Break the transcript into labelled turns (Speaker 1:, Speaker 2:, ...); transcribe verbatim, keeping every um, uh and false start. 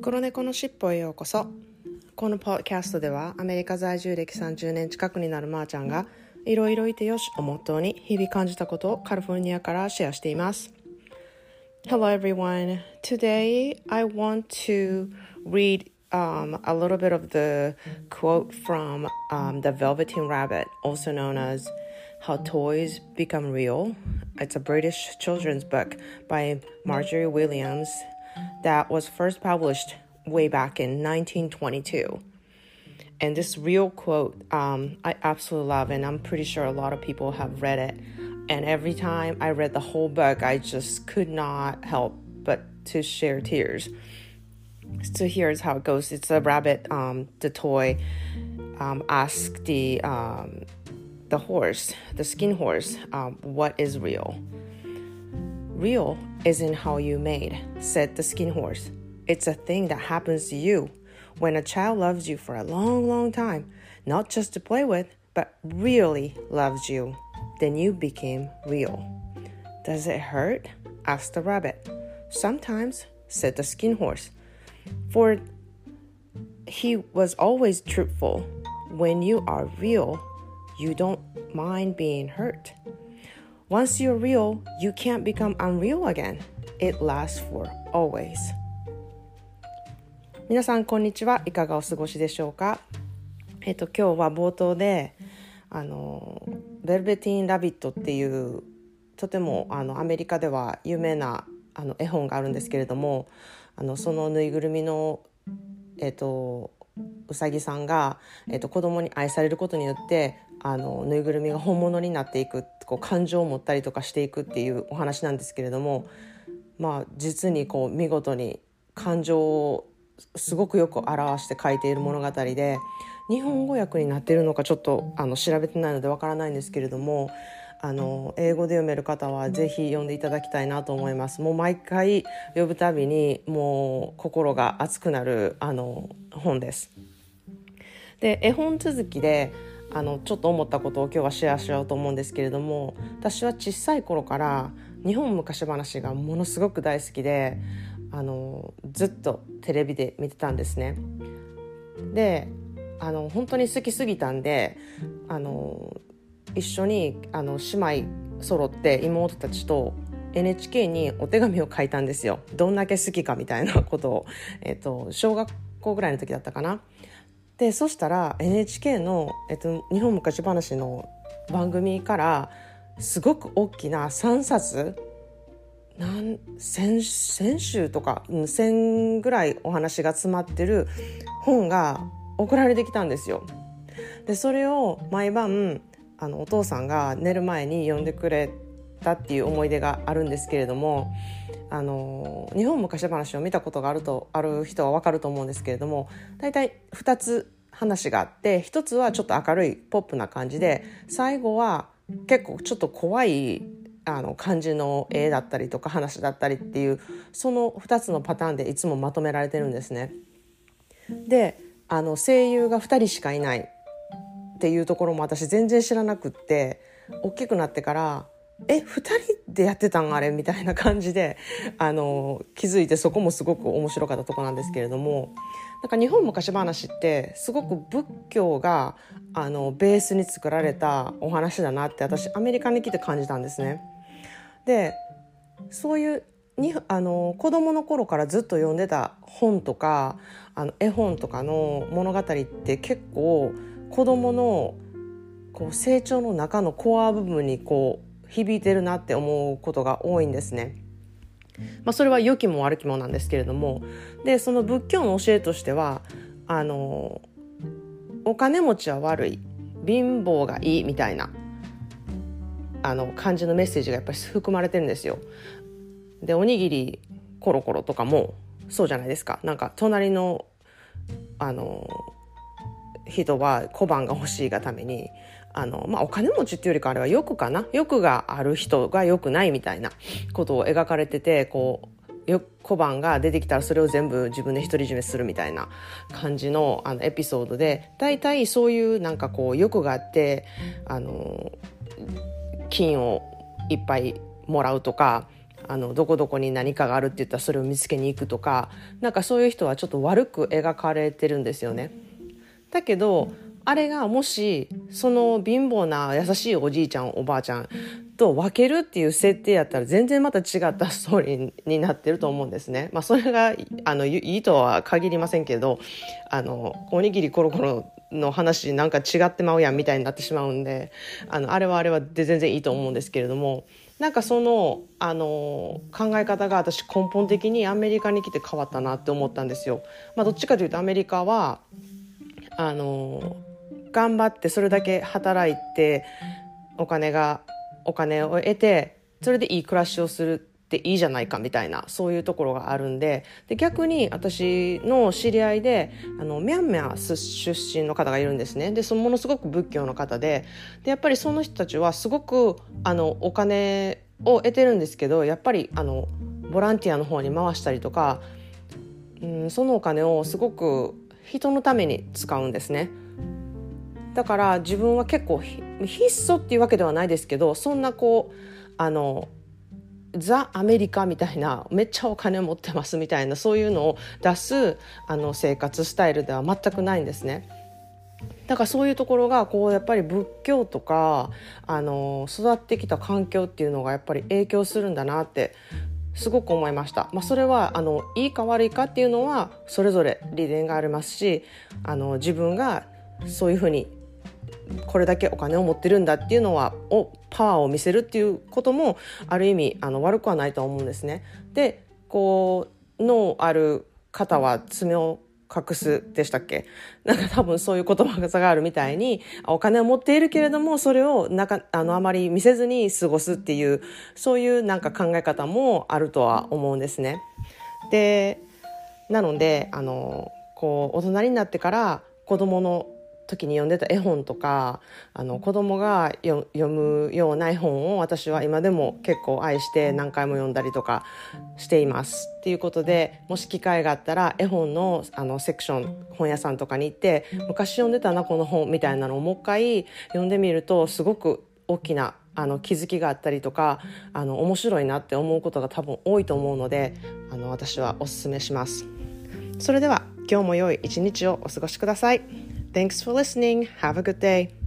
Speaker 1: 黒猫のしっぽへようこそ。このポッドキャストではアメリカ在住歴さんじゅうねん近くになるまーちゃんがいろいろいてよしをモットーに日々感じたことをカリフォルニアからシェアしています。 Hello everyone. Today I want to read um, a little bit of the quote from um, The Velveteen Rabbit, also known as How Toys Become Real. It's a British children's book by Marjorie Williams that was first published way back in nineteen twenty-two. And this real quote, um, I absolutely love, and I'm pretty sure a lot of people have read it. And every time I read the whole book, I just could not help but to share tears. So here's how it goes. It's a rabbit, um, the toy, um, asked the, um, the horse, the skin horse, um, what is real? Real isn't how you made, said the skin horse. It's a thing that happens to you when a child loves you for a long, long time, not just to play with, but really loves you. Then you became real. Does it hurt? Asked the rabbit. Sometimes, said the skin horse. For he was always truthful. When you are real, you don't mind being hurt.Once you're real, you can't become unreal again. It lasts for always. 皆さんこんにちは。いかがお過ごしでしょうか。えっと今日は冒頭であのベルベティーン・ラビットっていうとてもあのアメリカでは有名なあの絵本があるんですけれども、あのそのぬいぐるみのえっとうさぎさんが、えっと、子供に愛されることによってあのぬいぐるみが本物になっていく、こう感情を持ったりとかしていくっていうお話なんですけれども、まあ実にこう見事に感情をすごくよく表して書いている物語で、日本語訳になっているのかちょっとあの調べてないのでわからないんですけれども、あの英語で読める方はぜひ読んでいただきたいなと思います。もう毎回読むたびにもう心が熱くなるあの本です。で絵本続きであのちょっと思ったことを今日はシェアしようと思うんですけれども、私は小さい頃から日本昔話がものすごく大好きで、あのずっとテレビで見てたんですね。であの本当に好きすぎたんで、あの一緒にあの姉妹揃って妹たちと エヌエイチケー にお手紙を書いたんですよ。どんだけ好きかみたいなことを、えっと、小学校ぐらいの時だったかな。でそしたら エヌエイチケー の、えっと、日本昔話の番組からすごく大きなさんさつなん千集とかせんぐらいお話が詰まってる本が送られてきたんですよ。でそれを毎晩あのお父さんが寝る前に読んでくれたっていう思い出があるんですけれども、あの日本昔話を見たことがあるとある人は分かると思うんですけれども、だいたいふたつ話があって、ひとつはちょっと明るいポップな感じで、最後は結構ちょっと怖いあの感じの絵だったりとか話だったりっていう、そのふたつのパターンでいつもまとめられてるんですね。であの声優がふたりしかいないっていうところも私全然知らなくって、大きくなってからえふたりでやってたんあれみたいな感じであの気づいて、そこもすごく面白かったところなんですけれども、なんか日本昔話ってすごく仏教があのベースに作られたお話だなって私アメリカに来て感じたんですね。でそういうにあの子供の頃からずっと読んでた本とかあの絵本とかの物語って結構子供のこう成長の中のコア部分にこう響いてるなって思うことが多いんですね。まあ、それは良きも悪きもなんですけれども、でその仏教の教えとしてはあのお金持ちは悪い、貧乏がいいみたいなあの感じのメッセージがやっぱり含まれてるんですよ。でおにぎりコロコロとかもそうじゃないですか。なんか隣のあの人は小判が欲しいがためにあの、まあ、お金持ちっていうよりかあれは欲かな、欲がある人が欲ないみたいなことを描かれてて、こうよ小判が出てきたらそれを全部自分で独り占めするみたいな感じ の, あのエピソードで、だいたいそういうなんかこう欲があってあの金をいっぱいもらうとか、 あのどこどこに何かがあるって言ったらそれを見つけに行くとか、なんかそういう人はちょっと悪く描かれてるんですよね。だけどあれがもしその貧乏な優しいおじいちゃんおばあちゃんと分けるっていう設定やったら全然また違ったストーリーになってると思うんですね。まあ、それがあのいいとは限りませんけど、あのおにぎりコロコロの話なんか違ってまうやんみたいになってしまうんで、あのあれはあれはで全然いいと思うんですけれども、なんかその、あの考え方が私根本的にアメリカに来て変わったなって思ったんですよ。まあ、どっちかというとアメリカはあの頑張ってそれだけ働いてお金がお金を得てそれでいい暮らしをするっていいじゃないかみたいな、そういうところがあるんで、で逆に私の知り合いであのミャンマー出身の方がいるんですね。でそのものすごく仏教の方で、でやっぱりその人たちはすごくあのお金を得てるんですけど、やっぱりあのボランティアの方に回したりとか、うん、そのお金をすごく人のために使うんですね。だから自分は結構質素っていうわけではないですけど、そんなこうあのザ・アメリカみたいなめっちゃお金持ってますみたいなそういうのを出すあの生活スタイルでは全くないんですね。だからそういうところがこうやっぱり仏教とかあの育ってきた環境っていうのがやっぱり影響するんだなってすごく思いました。まあ、それはあのいいか悪いかっていうのはそれぞれ利点がありますし、あの自分がそういうふうにこれだけお金を持ってるんだっていうのはをパワーを見せるっていうこともある意味あの悪くはないと思うんですね。でこう脳ある方は爪を隠すでしたっけ、なんか多分そういう言葉があるみたいに、お金を持っているけれどもそれをなかあのあまり見せずに過ごすっていうそういうなんか考え方もあるとは思うんですね。でなのであのこう大人になってから子供の時に読んでた絵本とかあの子供が読むような絵本を私は今でも結構愛して何回も読んだりとかしていますっていうことで、もし機会があったら絵本 の, あのセクション本屋さんとかに行って昔読んでたなこの本みたいなのをもう一回読んでみるとすごく大きなあの気づきがあったりとかあの面白いなって思うことが多分多いと思うので、あの私はおすすめします。それでは今日も良い一日をお過ごしください。Thanks for listening. Have a good day.